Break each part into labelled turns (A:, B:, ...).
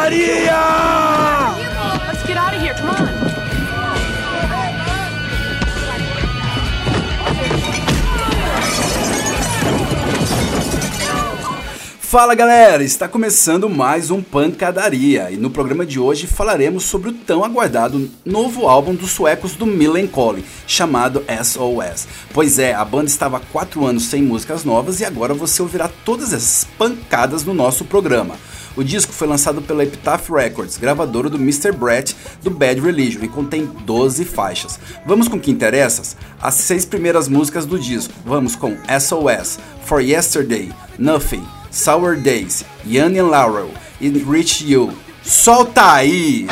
A: Pancadaria!
B: Let's get out of here, come on.
A: Fala galera, está começando mais um Pancadaria e no programa de hoje falaremos sobre o tão aguardado novo álbum dos suecos do Millencolin, chamado SOS. Pois é, a banda estava há 4 anos sem músicas novas e agora você ouvirá todas essas pancadas no nosso programa. O disco foi lançado pela Epitaph Records, gravadora do Mr. Brett do Bad Religion, e contém 12 faixas. Vamos com o que interessa? As 6 primeiras músicas do disco. Vamos com SOS, For Yesterday, Nothing, Sour Days, Young and Laurel e Reach You. Solta aí!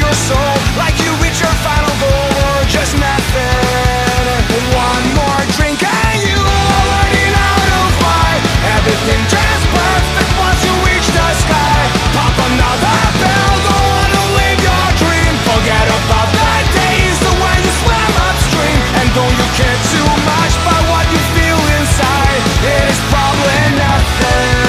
C: your soul, like you reach your final goal or just nothing. One more drink and you are learning how to fly. Everything just perfect once you reach the sky. Pop another pill, go on and live your dream. Forget about the days when you swam upstream. And don't you care too much about what you feel inside. It is probably nothing.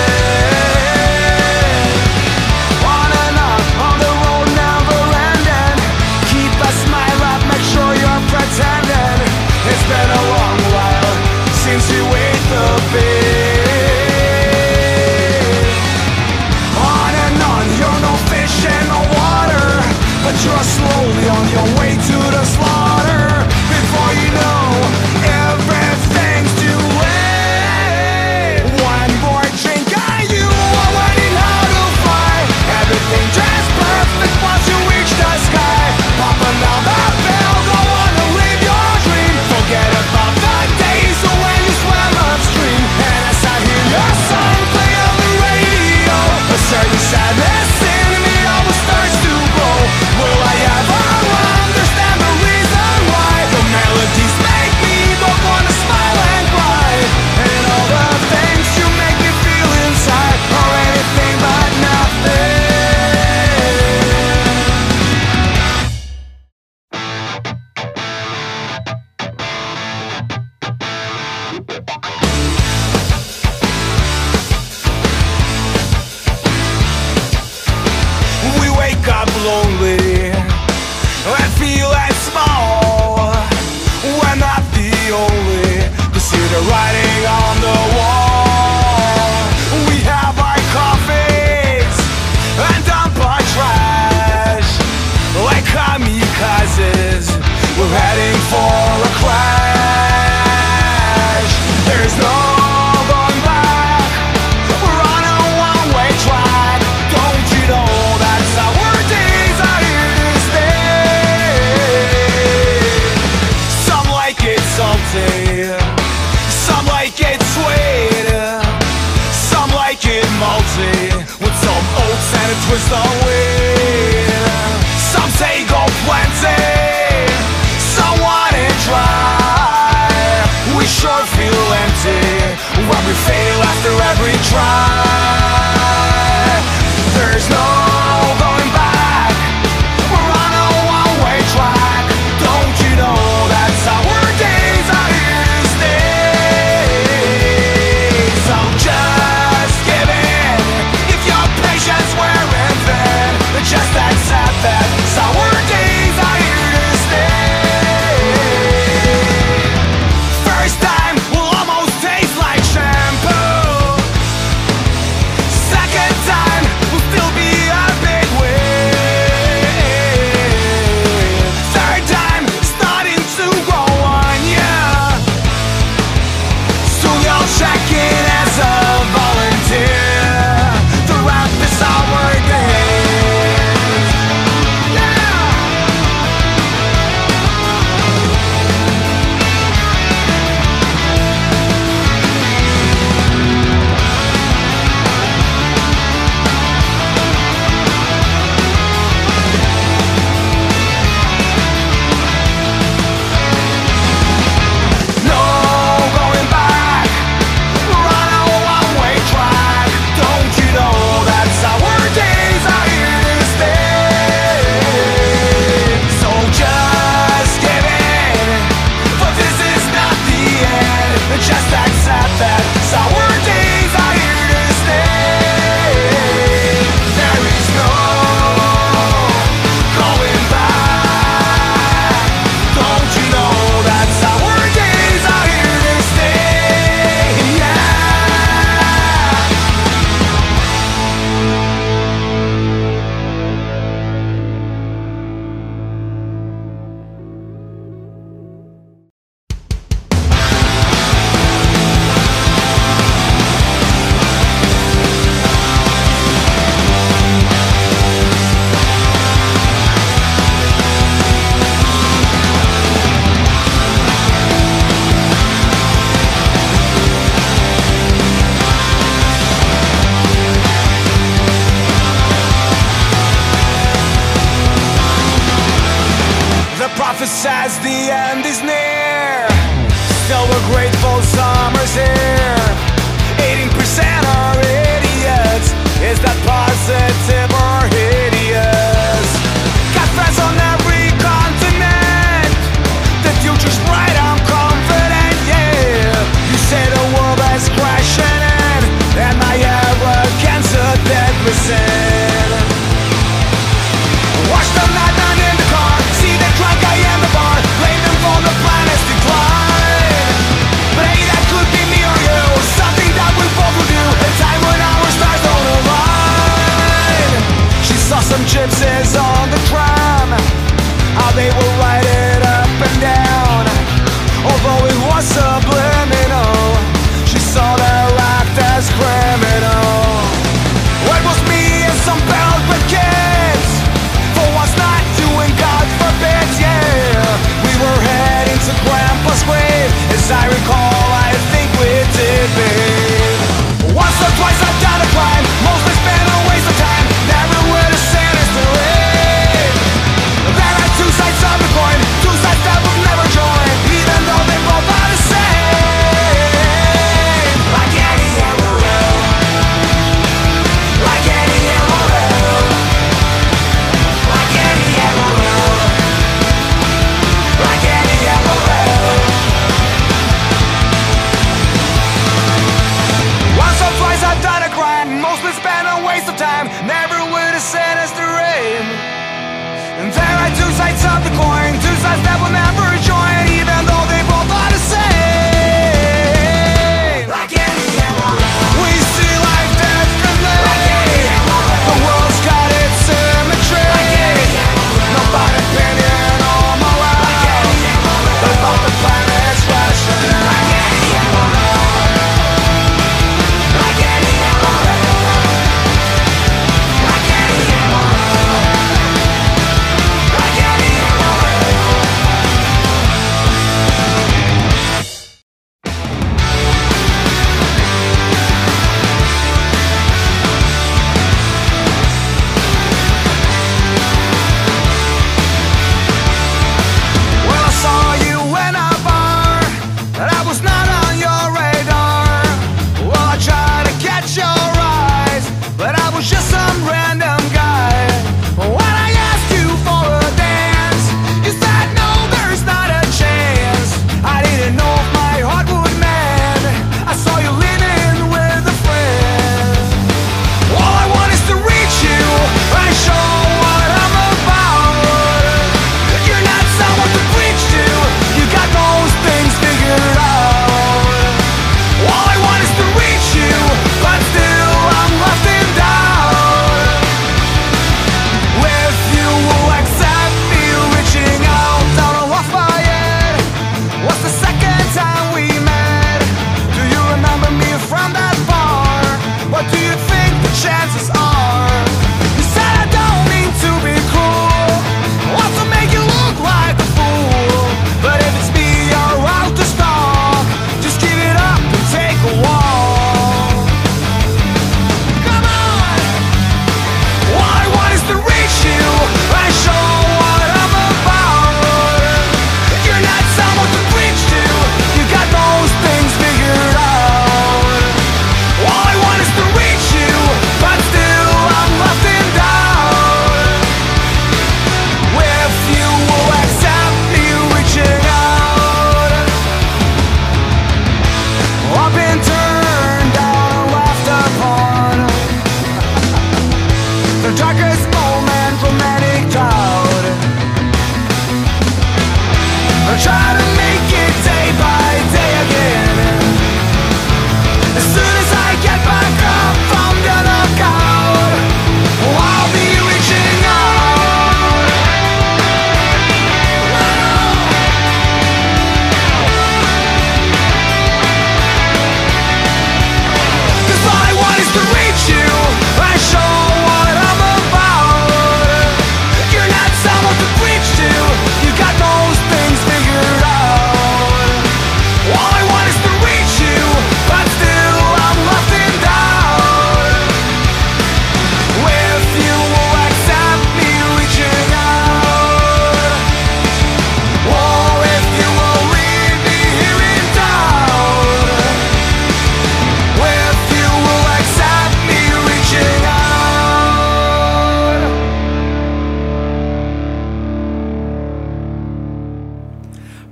C: On and on the road never ending. Keep a smile up, make sure you're pretending. It's been a long while since you ate the bait. On and on, you're no fish in the water, but you're slowly on your way to the slaughter. Before you know, everything's too late. One more drink and you are learning how to fly. Everything just perfect once you reach the sky. Pop another pill, go on and live your dream. Forget about the days when you swam upstream. And as I hear your song play on the radio, a certain sadness in me always starts to grow. Will I ever understand the reason prophesies the end is near. Still we're grateful summer's here. 18% are idiots. Is that positive or hideous? Got friends on every continent. The future's bright, I'm confident, yeah. You say the world is crashing in, and my arrogance a deadly sin. Watch them madman in the car, see the drunk guy in the bar, blame them for the planet's decline. Maybe that could be me or you, something that we both will do, a time when our stars don't align. She saw some gypsies on the tram, how they will ride it up and down. Although it was subliminal, she saw their act as criminal. What was me and some barreled with kids, for what's not doing God forbid, yeah. We were heading to Grandpa's grave, as I recall, I think we did, babe. Once or twice I've done a crime, mostly it's been a waste of time, never with a sinister aim. There are two sides of the coin, two sides that will never join, even though they both are the same. Like any arrow, like any arrow, like any arrow, like any arrow. Once or twice I've done a crime, mostly it's been a waste of time, never with a sinister aim. And there are two sides of the coin, two sides that will never join, even though they both are the same. Like any arrow, we see life differently. Like any arrow, the world's got its symmetry. Like any arrow, not by opinion or morale. Like any arrow, but about the planet's rationale. Like any arrow, like any arrow, like any arrow. Like any arrow,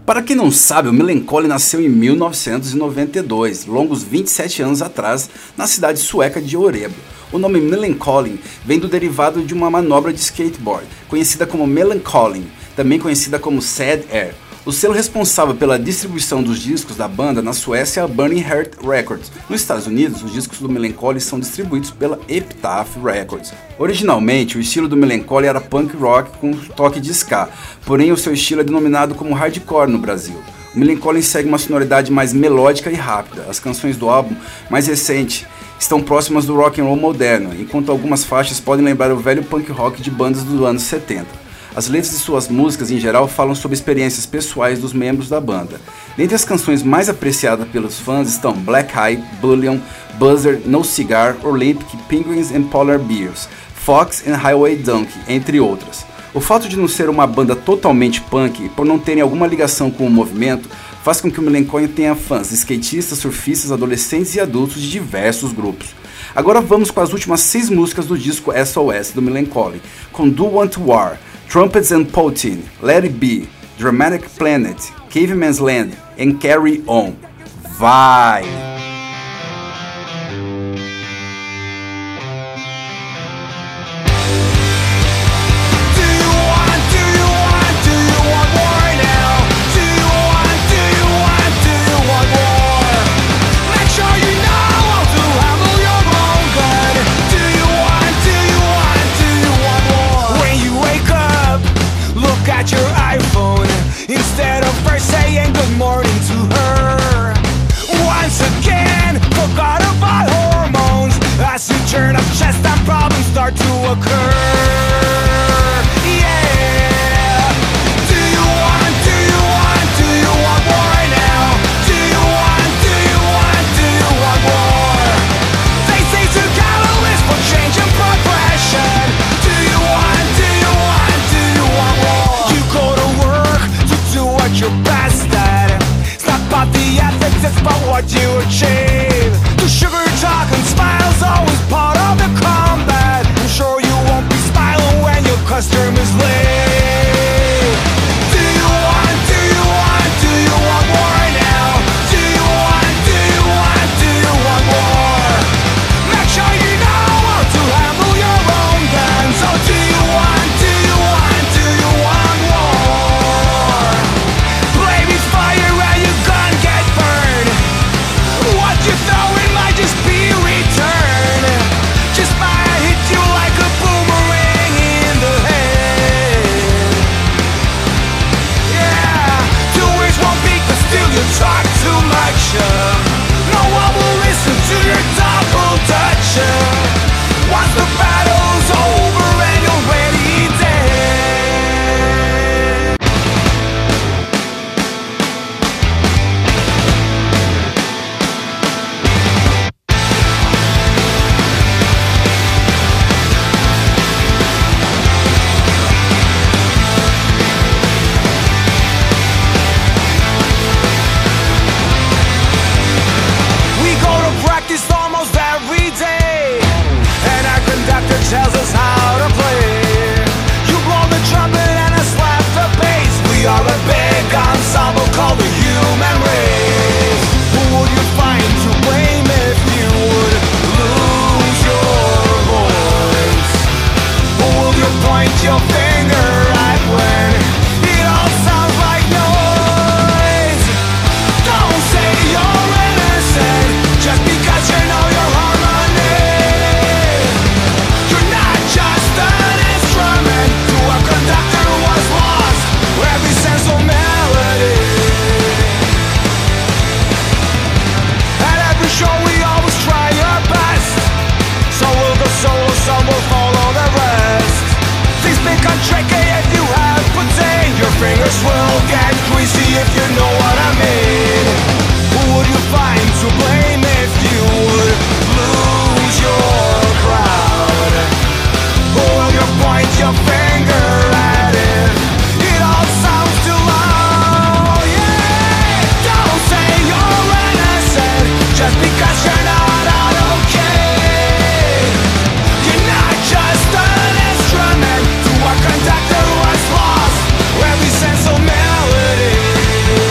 A: Para quem não sabe, o Millencolin nasceu em 1992, longos 27 anos atrás, na cidade sueca de Örebro. O nome Millencolin vem do derivado de uma manobra de skateboard, conhecida como Millencolin, também conhecida como Sad Air. O selo responsável pela distribuição dos discos da banda na Suécia é a Burning Heart Records. Nos Estados Unidos, os discos do Millencolin são distribuídos pela Epitaph Records. Originalmente, o estilo do Millencolin era punk rock com toque de ska, porém o seu estilo é denominado como hardcore no Brasil. O Millencolin segue uma sonoridade mais melódica e rápida. As canções do álbum mais recente estão próximas do rock and roll moderno, enquanto algumas faixas podem lembrar o velho punk rock de bandas dos anos 70. As letras de suas músicas, em geral, falam sobre experiências pessoais dos membros da banda. Dentre as canções mais apreciadas pelos fãs estão Black Eye, Bullion, Buzzer, No Cigar, Olympic, Penguins and Polar Bears, Fox and Highway Donkey, entre outras. O fato de não ser uma banda totalmente punk, por não terem alguma ligação com o movimento, faz com que o Millencolin tenha fãs skatistas, surfistas, adolescentes e adultos de diversos grupos. Agora vamos com as últimas 6 músicas do disco SOS do Millencolin, com Do Want War, Trumpets and Poutine, Let It Be, Dramatic Planet, Caveman's Land and Carry On. Vai!
C: Instead of first saying good morning to her, once again, forgot about hormones. As you turn up chest and problems start to occur. Yeah. Do you want war now? Do you want war? They say to catalyst for change and progression. Do you want war? You go to work to do what you're best at. It's not about the ethics, it's about what you achieve. The sugar talk and smiles always part of the combat. I'm sure you won't be smiling when your customers leave. Do you want war now? Do you want war? Make sure you know how to handle your own guns. Oh, do you want war? Play with fire and you're gonna get burned. What you throw in might just be returned. Just might hit you like a boomerang in the head. Yeah, 2 weeks won't be, but still you talk too much. No one will listen to your double dutch. Once the battle's over and you're already dead. We go to practice almost every day, and our conductor tells us how to play. You blow the trumpet and I slap the bass. We are a big ensemble called the human race. Who would you find to blame if you would lose your voice? Who will you point your finger at when it all sounds like noise? Don't say you're innocent just because you know your harmony. You're not just an instrument to a conductor who was lost every sense of melody. At every show we always try our best. Some will go solo, some will follow the rest. Things become tricky if you have poutine. Your fingers will get greasy if you know what I mean. Who would you find to blame if you would lose your crowd? Who will you point your finger at if it all sounds too loud? Yeah, don't say you're innocent just because you're not out okay. You're not just an instrument to a conductor who has lost every sense of melody.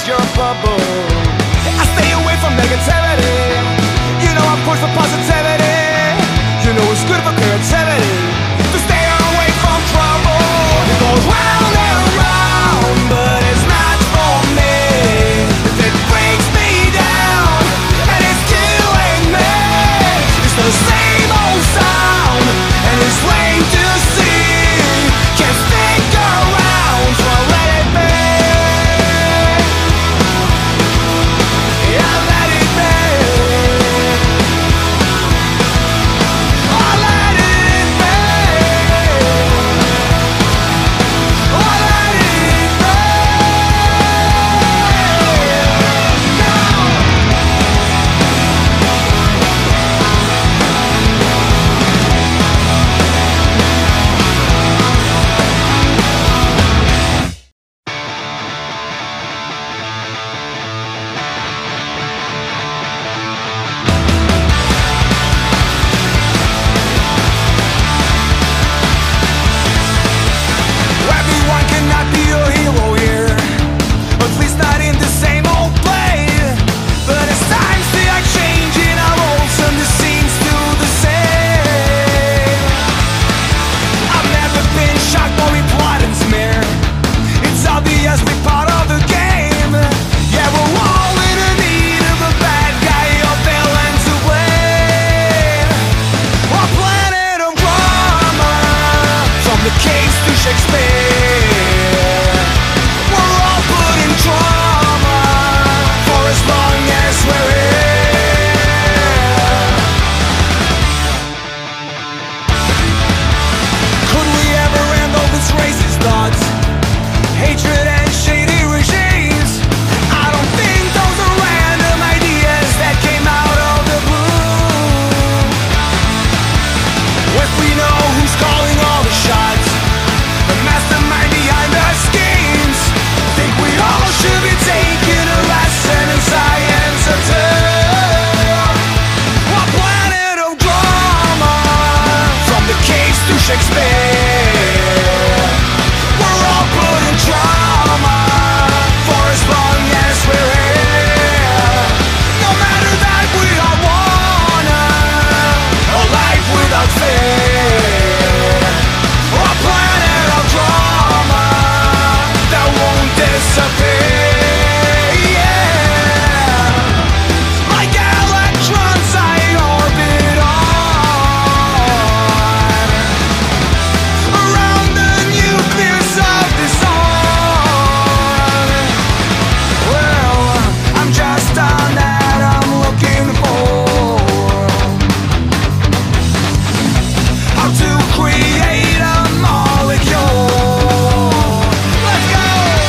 C: your bubble. I stay away from negativity. You know I'm for positivity. You know it's good for creativity. To stay away from trouble. It goes round and round, but it's not for me. If it brings me down and it's killing me, it's the same old sound and it's plain to see. Can't stick around, so I let it be. Yeah, let it be. I let it be. I let it be. Everyone cannot be a hero here, at least not in the same old play. But as times they are changing, our roles and the scenes do the same. I've never been shocked or implied and smear. It's obvious we're part of the game. Yeah, we're all in the need of a bad guy or villain to blame. A planet of drama, from the caves to Shakespeare. We're all put in trauma for as long as we're here. Could we ever end all this racist thoughts, hatred and shady regimes? I don't think those are random ideas that came out of the blue. If we know who's calling all the shots, the mastermind behind the schemes, think we all should be taking a lesson in science or two. A planet of drama, from the caves to Shakespeare. We're all put in trauma for as long as we're here. No matter that we all wanna a life without fear. A planet of drama that won't disappear. Yeah, like electrons I orbit on around the nucleus of the sun. Well, I'm just an atom looking for how to create a molecule. Let's go!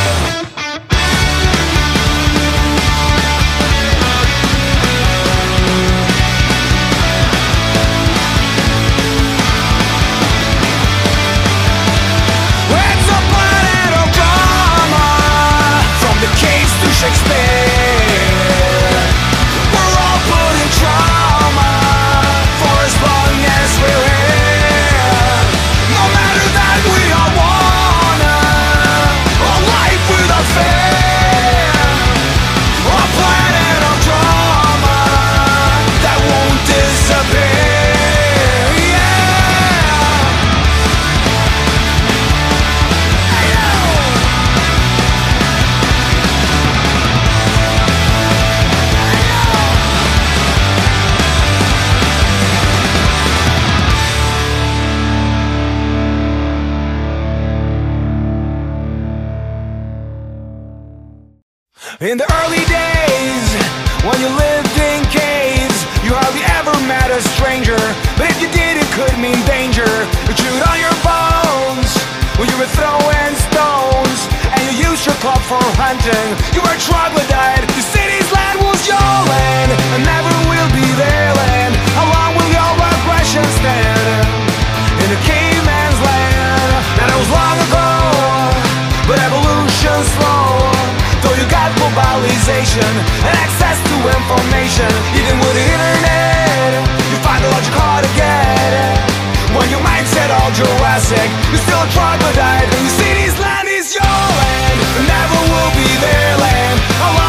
C: It's a planet of drama, from the caves to Shakespeare. We're all put in trauma for as long as we're here. No matter that we all wanna a life without fear. A planet of drama that won't disappear. Yeah. In the early days, when you lived in caves, you hardly ever met a stranger. But if you did, it could mean danger. You chewed on your bones when you were throwing stones, and you used your club for hunting. You were troglodyte. The city's land was your land, and never will be their land. How long will your aggression stand in a caveman's land? That was long ago, but evolution's slow. Though you got globalization and access to information, even with the internet, you find the logic hard to get. When your mindset all Jurassic, you're still a troglodyte. And your city's land is your land, and never will be their land.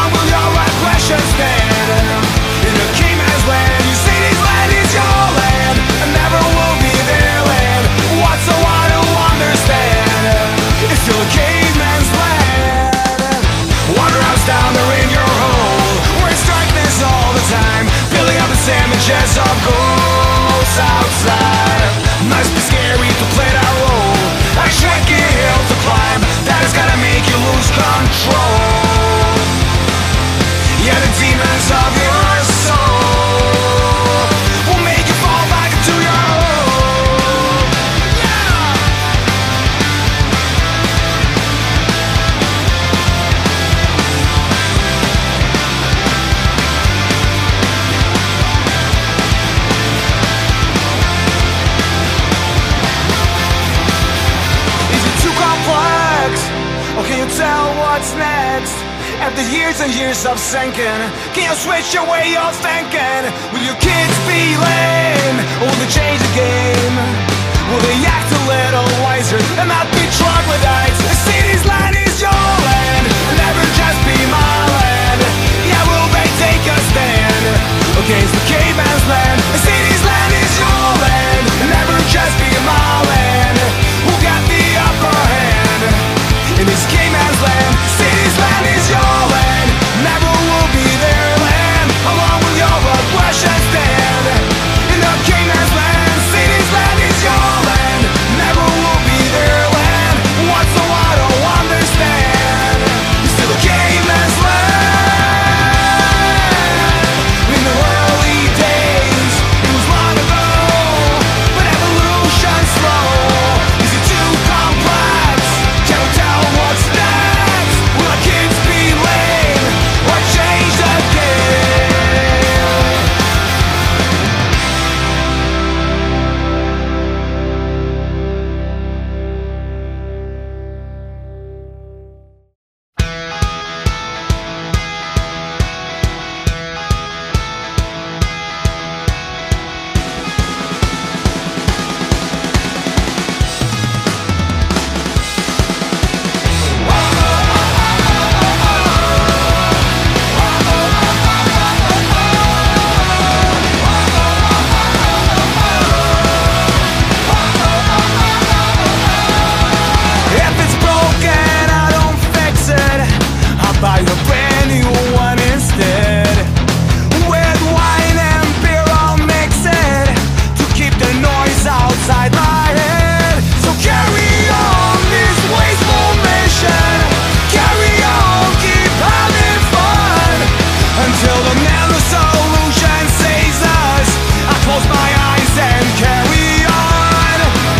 C: what's next? After years and years of sinking, can you switch your way of thinking? Will your kids be lame? Or will they change the game? Will they act a little wiser and not be troglodytes? The city's land is your land, never just be my land. Yeah, will they take a stand against the caveman's land? The city's land is your land, never just be my land. Who got the upper hand in this caveman's land? The city's land is your land, never will be their land. How long will your aggression stand in the caveman's land? The city's land is your land, never will be their land. What's the I don't understand? You're still a caveman's land. In the early days, it was long ago, but evolution's slow. Is it too complex? Can't tell what's next. Will our kids be lame or change the game? If it's broken, I don't fix it. I'll buy you a brand new one instead. With wine and beer, I'll mix it to keep the noise outside my head. So carry on this wasteful mission. Carry on, keep having fun until the nano solution saves us. I close my eyes and carry on.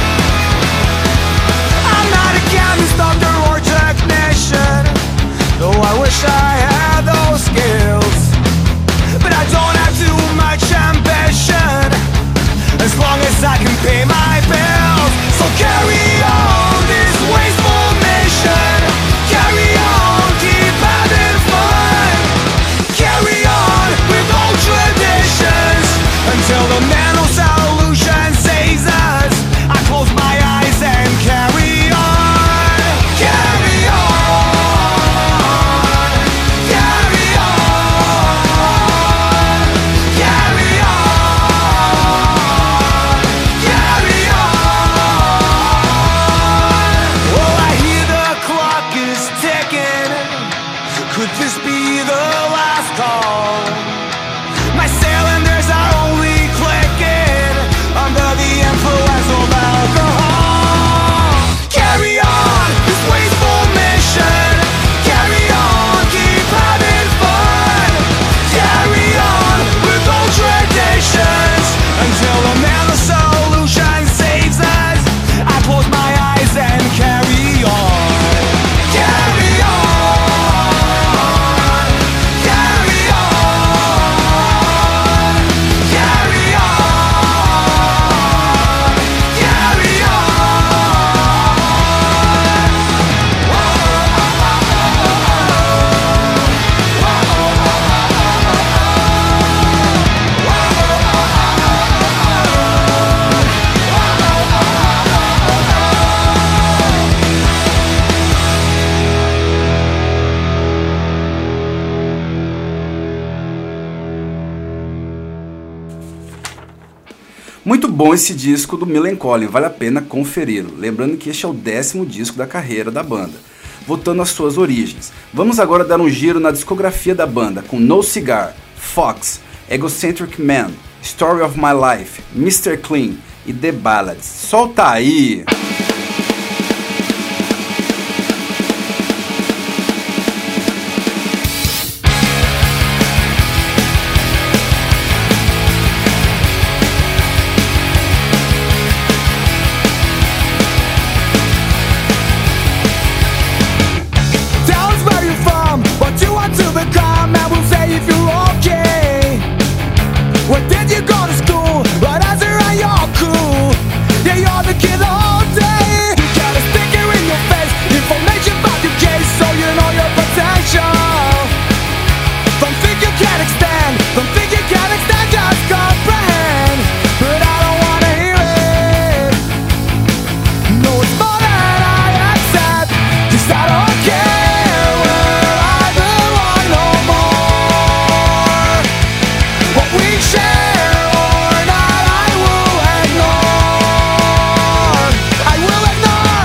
C: I'm not a chemist, doctor, or technician, though I wish I had those skills. But I don't have too much ambition, as long as I can pay my bills. So carry on this wasteful mission. Carry on, keep having fun. Carry on with old traditions until the nano solution saves us. I close my eyes and carry on. Carry on. Carry on. Carry on. Carry on. Oh, I hear the clock is ticking. Could this be the last call? My cylinders are only clicking under the influence of alcohol. Carry on this wasteful mission. Carry on, keep having fun. Carry on with old traditions until the nano solution saves us. I close my eyes and carry on. Carry on. Carry on. Carry on. Carry
A: Muito bom esse disco do Millencolin, vale a pena conferi-lo. Lembrando que este é o 10º disco da carreira da banda. Voltando às suas origens, vamos agora dar um giro na discografia da banda com No Cigar, Fox, Egocentric Man, Story of My Life, Mr. Clean e The Ballads. Solta aí!
C: Where did you go to school? What answer are you cool? Yeah, you're the kid all day. potential. Don't think you can extend, don't think you can extend, just comprehend. But I don't wanna hear it. No, it's more than I accept. 'Cause I don't care where I belong no more. What we share or not, I will ignore. I will ignore.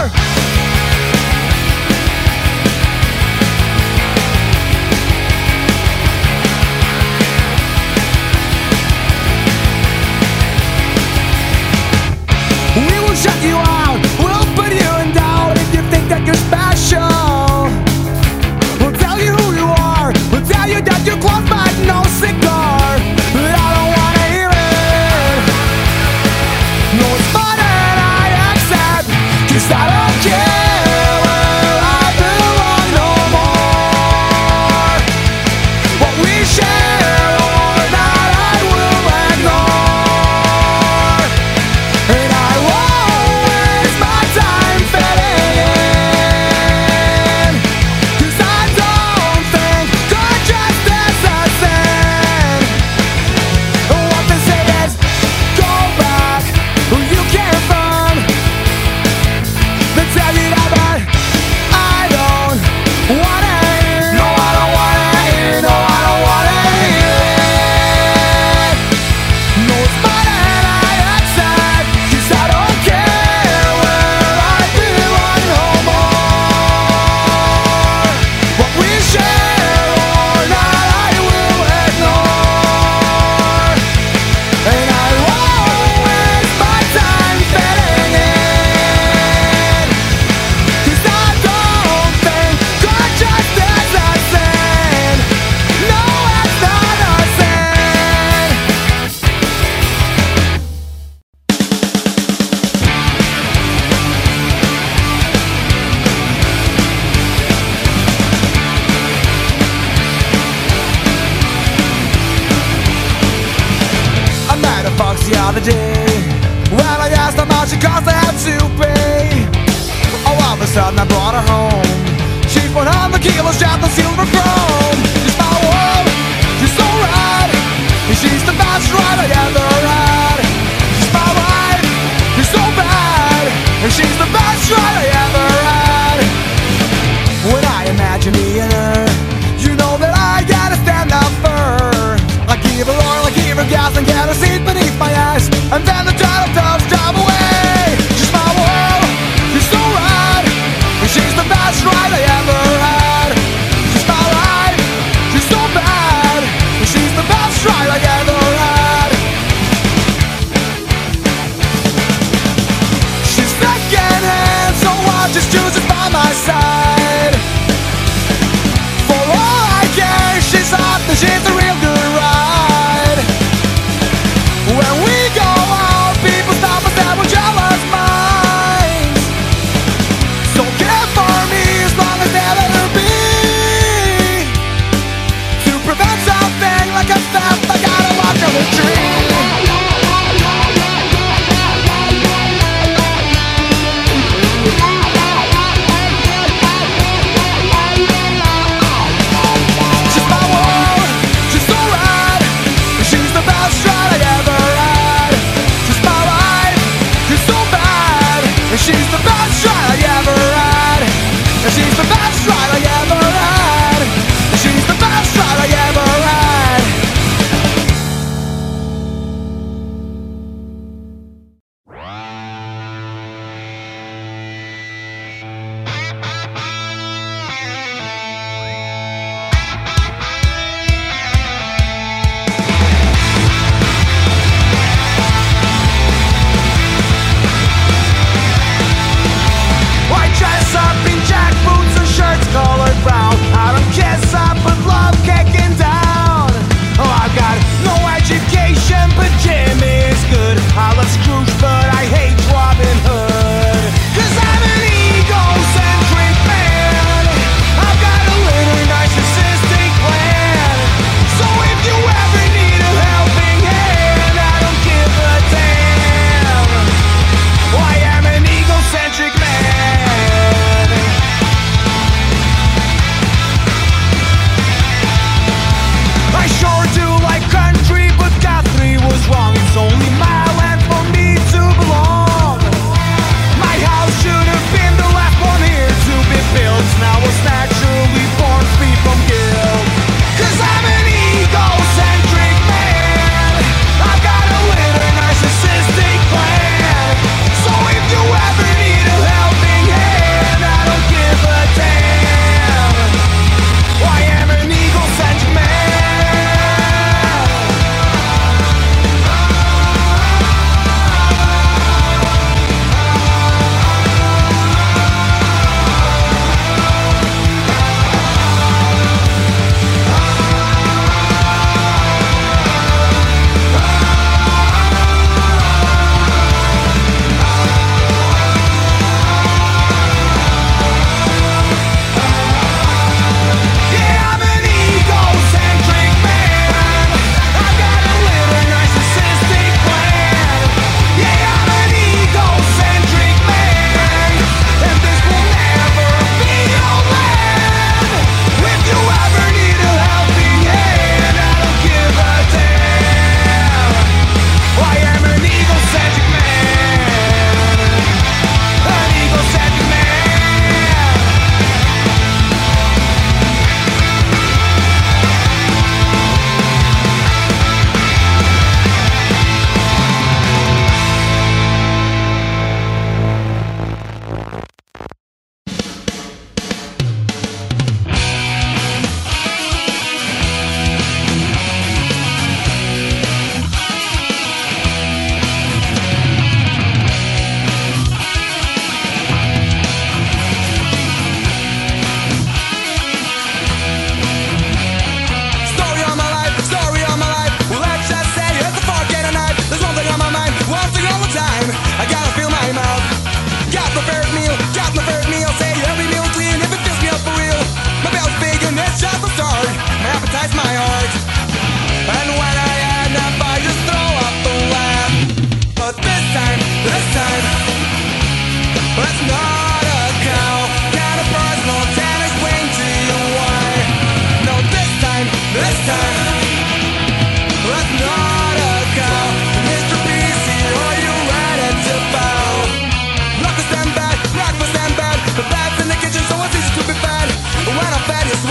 C: We will shut you out, we'll put you in doubt if you think that you're special. We'll tell you who you are, we'll tell you that you're close but no cigar. But I don't wanna hear it. No, it's more than I accept. 'Cause I don't care where I belong no more. What we share or not, I will ignore. And I won't waste my time fitting in. 'Cause I don't think good justice is sin. What they say is, go back where you came from. They tell you that, but I don't wanna hear. No, I don't wanna hear. No, I don't wanna hear it. No, it's more than I accept. 'Cause I don't care where I belong no more. What we share or not, I will ignore. And I won't waste my time fitting in. 'Cause I don't think good justice is sin. No, it's not a sin. I met a fox the other day. When I asked how much it cost, I had to pay. All of a sudden I brought her home. She's 100 kilos, just on silver chrome. She's my world, she's so rad. And she's the best ride I ever had. She's my wife, she's so bad. And she's the best ride I ever had. When I imagine being her, you know that I gotta stand up for her. I give her oil, I give her gas, and get her seat beneath my ass. And then the turtle doves drive away. She's my world, she's so rad. And she's the best ride I ever had. She's my life.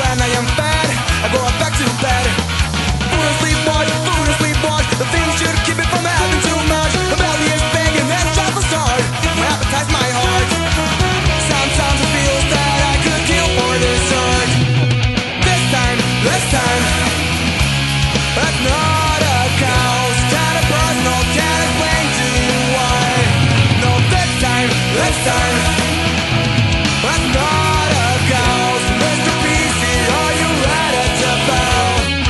C: when I am fed, I go back to bed. Food and sleep watch, the things should keep it from having too much. The belly is big and then travels hard. My appetite's my heart. Sometimes it feels that I could kill for dessert. This time, that's not a cause. Kind of personal, can't explain to you why. No, this time, that's not a cause. Mr. PC, are you ready to bow?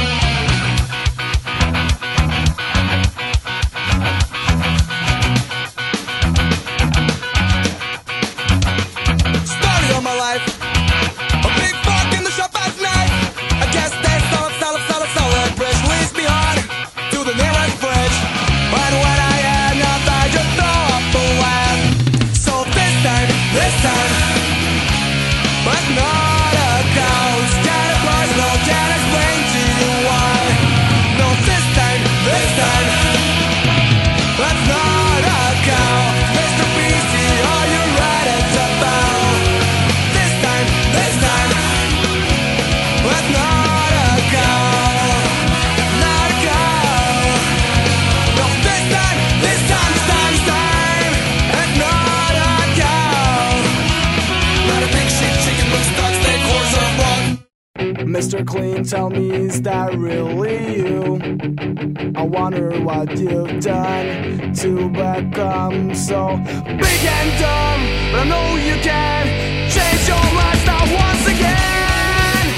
C: Story of my life. A big fuck in the shop at night. I guess they solid bridge leads me on to the nearest bridge. And when I had enough, I just throw up the land. So this time, but not a cause. Kind of personal, can't explain to you why. No, this time, that's not a cow. Mr. PC, are you ready to bow? This time, that's not a cow. Not a cow. No, this time, that's not a cow. Not a big shit chicken, but stuck steak, horse or frog.
D: Mr. Clean, tell me, is that really you? I wonder what you've done to become so big and dumb. But I know you can change your lifestyle once again.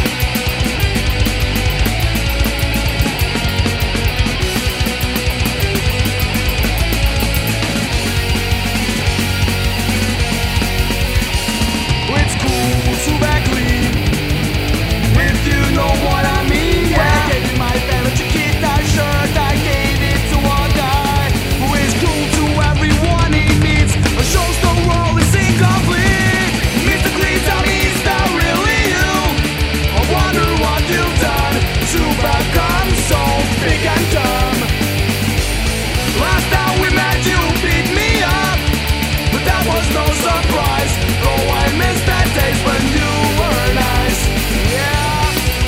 D: It's cool to back clean, if you know what I mean. Yeah, I gave you my favorite Chiquita shirt, I gave it to one guy who is cool to everyone he meets, but shows the world is incomplete. Mr. Clean, tell me, is that really you? I wonder what you've done to become so big and dumb. Last time we met, you beat me up, but that was no surprise. Oh, I miss that days when you were nice. Yeah.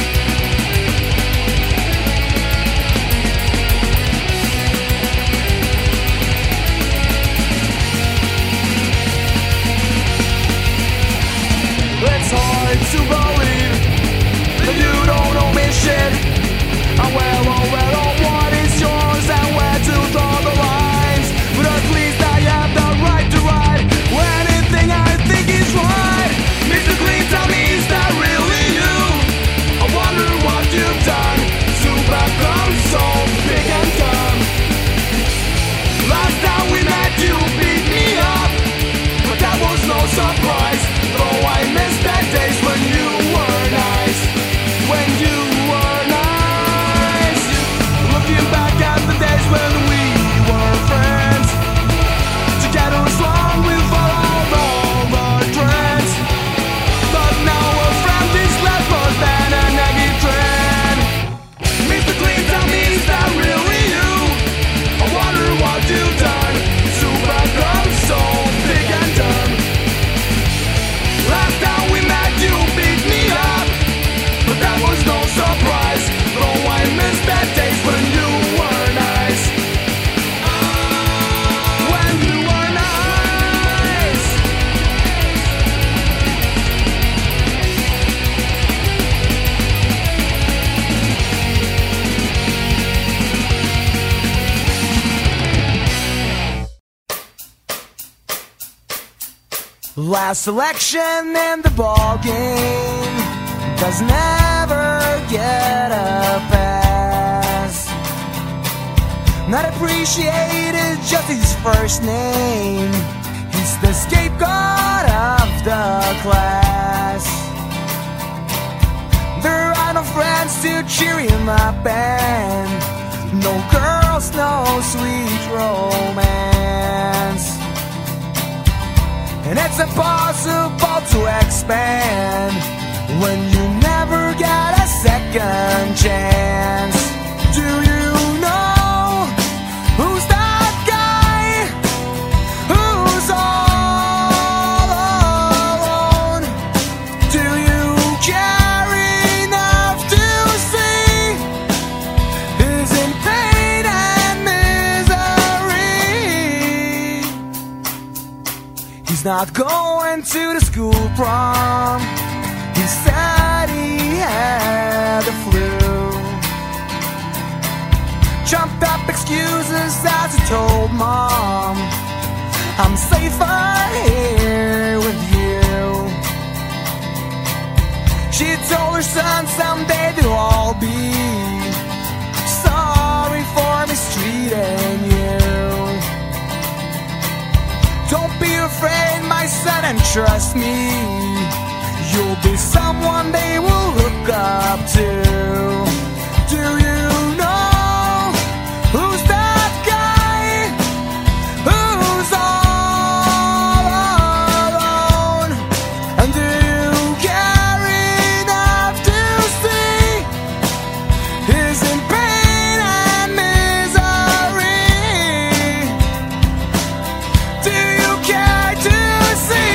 D: It's hard to believe that you don't owe me shit. I'm well aware of what is yours and where to draw the lines, but at least I have the right to ride anything I think is right. Mr. Clean, tell me, is that really you? I wonder what you've done to become so big and dumb. Last time we met, you beat me up, but that was no surprise. Though I miss that days when you were nice. When you were nice. Looking back at the days when we were friends, together as long we followed all the trends. But now a friend is less worse than a negative trend. Mr. Clean, tell me, is that really you? I wonder what you've done to become so big and dumb. Last time we met, you beat me up, but that was no surprise. Though I miss that days when you were nice. When you were nice. Last selection in the ball game does never get a pass. Not appreciated, just his first name. He's the scapegoat of the class. There are no friends to cheer him up, and no girls, no sweet romance. And it's impossible to expand when you never get a second chance. Do you know who's that guy who's all alone? Do you carry not going to the school prom. He said he had the flu. Trumped up excuses as he told Mom, I'm safer here with you. She told her son someday they'll all be sorry for mistreating you. Don't be afraid, my son, and trust me, you'll be someone they will look up to. Do you know who's that guy who's all alone? And do you care enough to see he's in pain and misery? Do you care to see?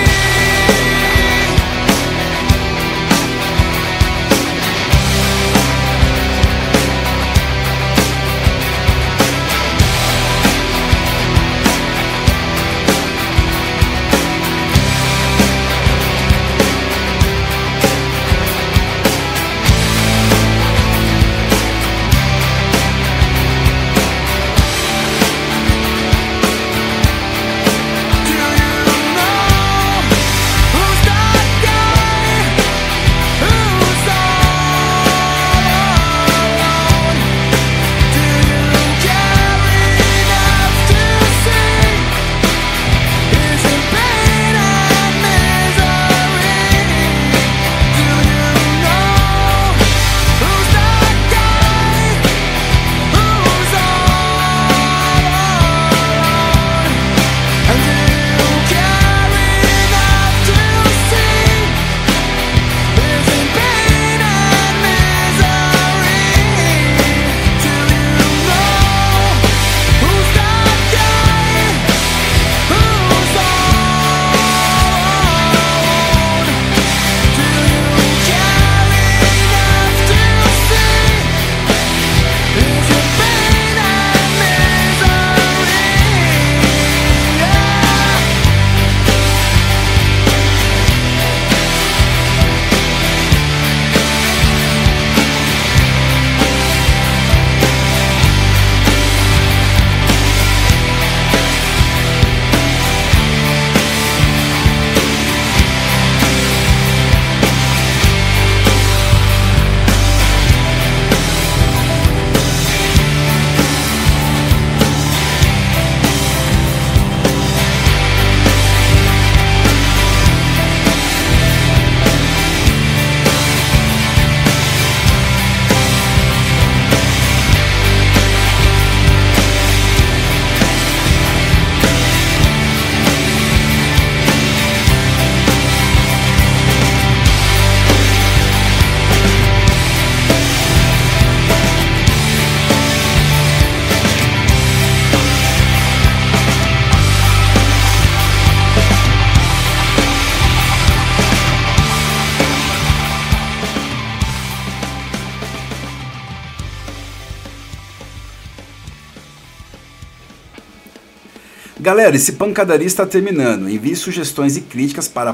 A: Galera, esse Pancadaria está terminando. Envie sugestões e críticas para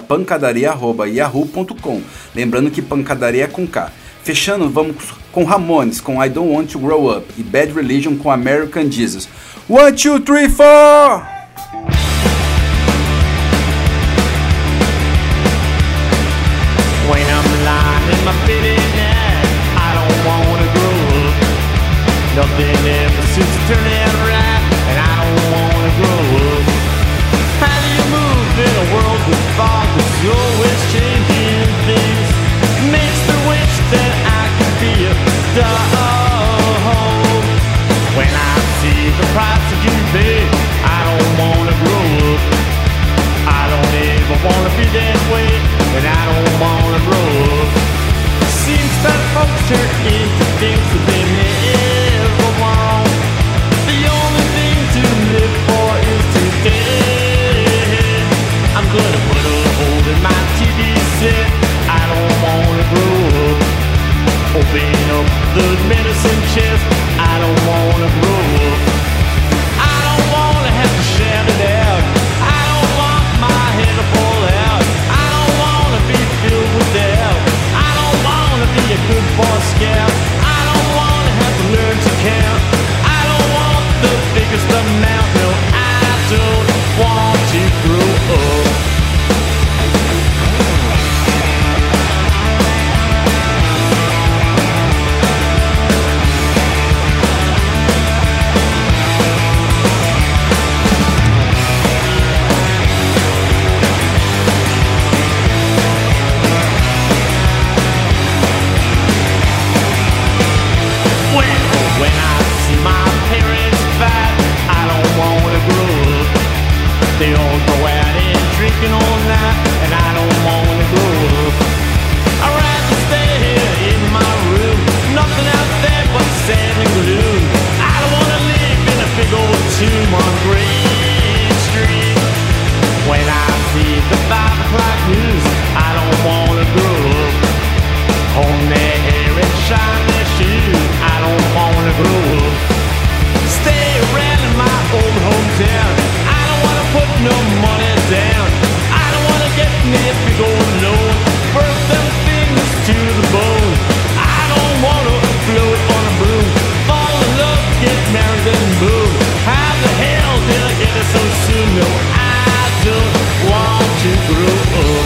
A: pancadaria@yahoo.com. Lembrando que pancadaria é com K. Fechando, vamos com Ramones, com I Don't Want to Grow Up, e Bad Religion com American Jesus. 1, 2, 3, 4!
E: When I'm lying in my bed at night, I don't wanna grow up. Nothing ever seems to turn out right, and I don't wanna grow up. How do you move in a world with fog that's always changing things? Makes me wish that I could be a dog. When I see the price that you pay, I don't wanna grow up. I don't ever wanna be that way, and I don't wanna grow up. Seems that folks turn into things that they never want. The only thing to live for is today. I'm gonna put a hole in my TV set. I don't wanna grow up. Open up the medicine chest. I don't wanna grow up. I don't wanna have to shout it out. I don't want my head up scare. I don't wanna have to learn to count. I don't want the biggest amount. No, I don't want to grow up. When I see my parents fight, I don't wanna grow up. They all go out and drinking all night, and I don't wanna grow up. I'd rather stay here in my room, nothing out there but sand and gloom. I don't wanna live in a big old tomb on Green Street. When I see the 5 o'clock news, I don't wanna grow up. Comb their hair and shine their shoes, I don't wanna grow up. Stay around in my old hometown, I don't wanna put no money down. I don't wanna get me a big old loan, burn them fingers to the bone. I don't wanna float on a broom, fall in love, get married and boom. How the hell did I get it so soon? No, I don't want to grow up.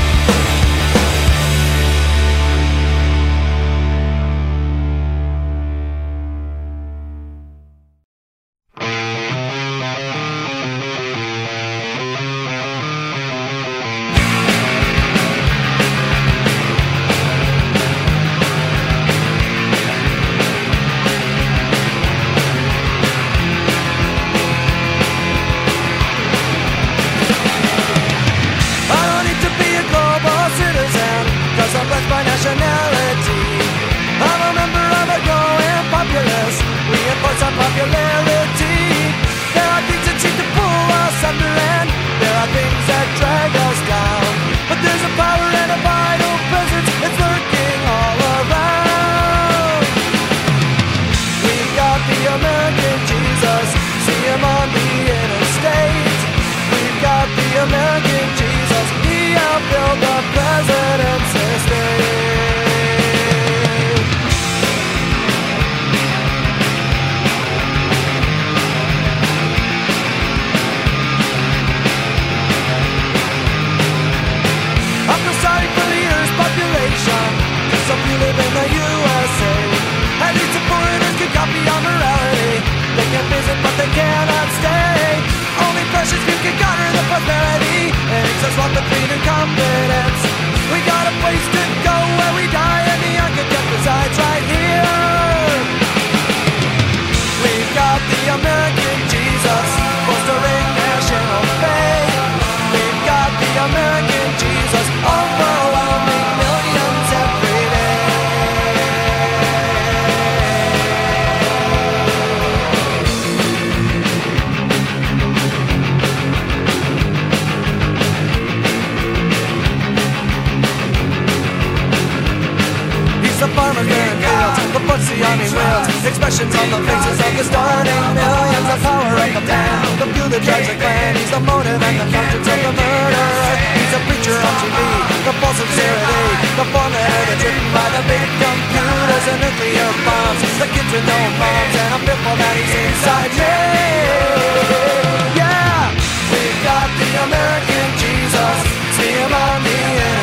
D: Expressions on the faces of the starting millions. The power of the man, the few that drives the clan. He's the motive and the conscience of the murderer. He's a preacher on TV, the false sincerity, the formula that's written by the big computers and nuclear bombs. The kids with no moms, and I'm fearful that he's inside me. Yeah, we've got the American Jesus, see him on the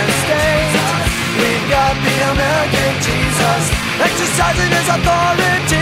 D: interstate. We've got the American Jesus, exercising his authority.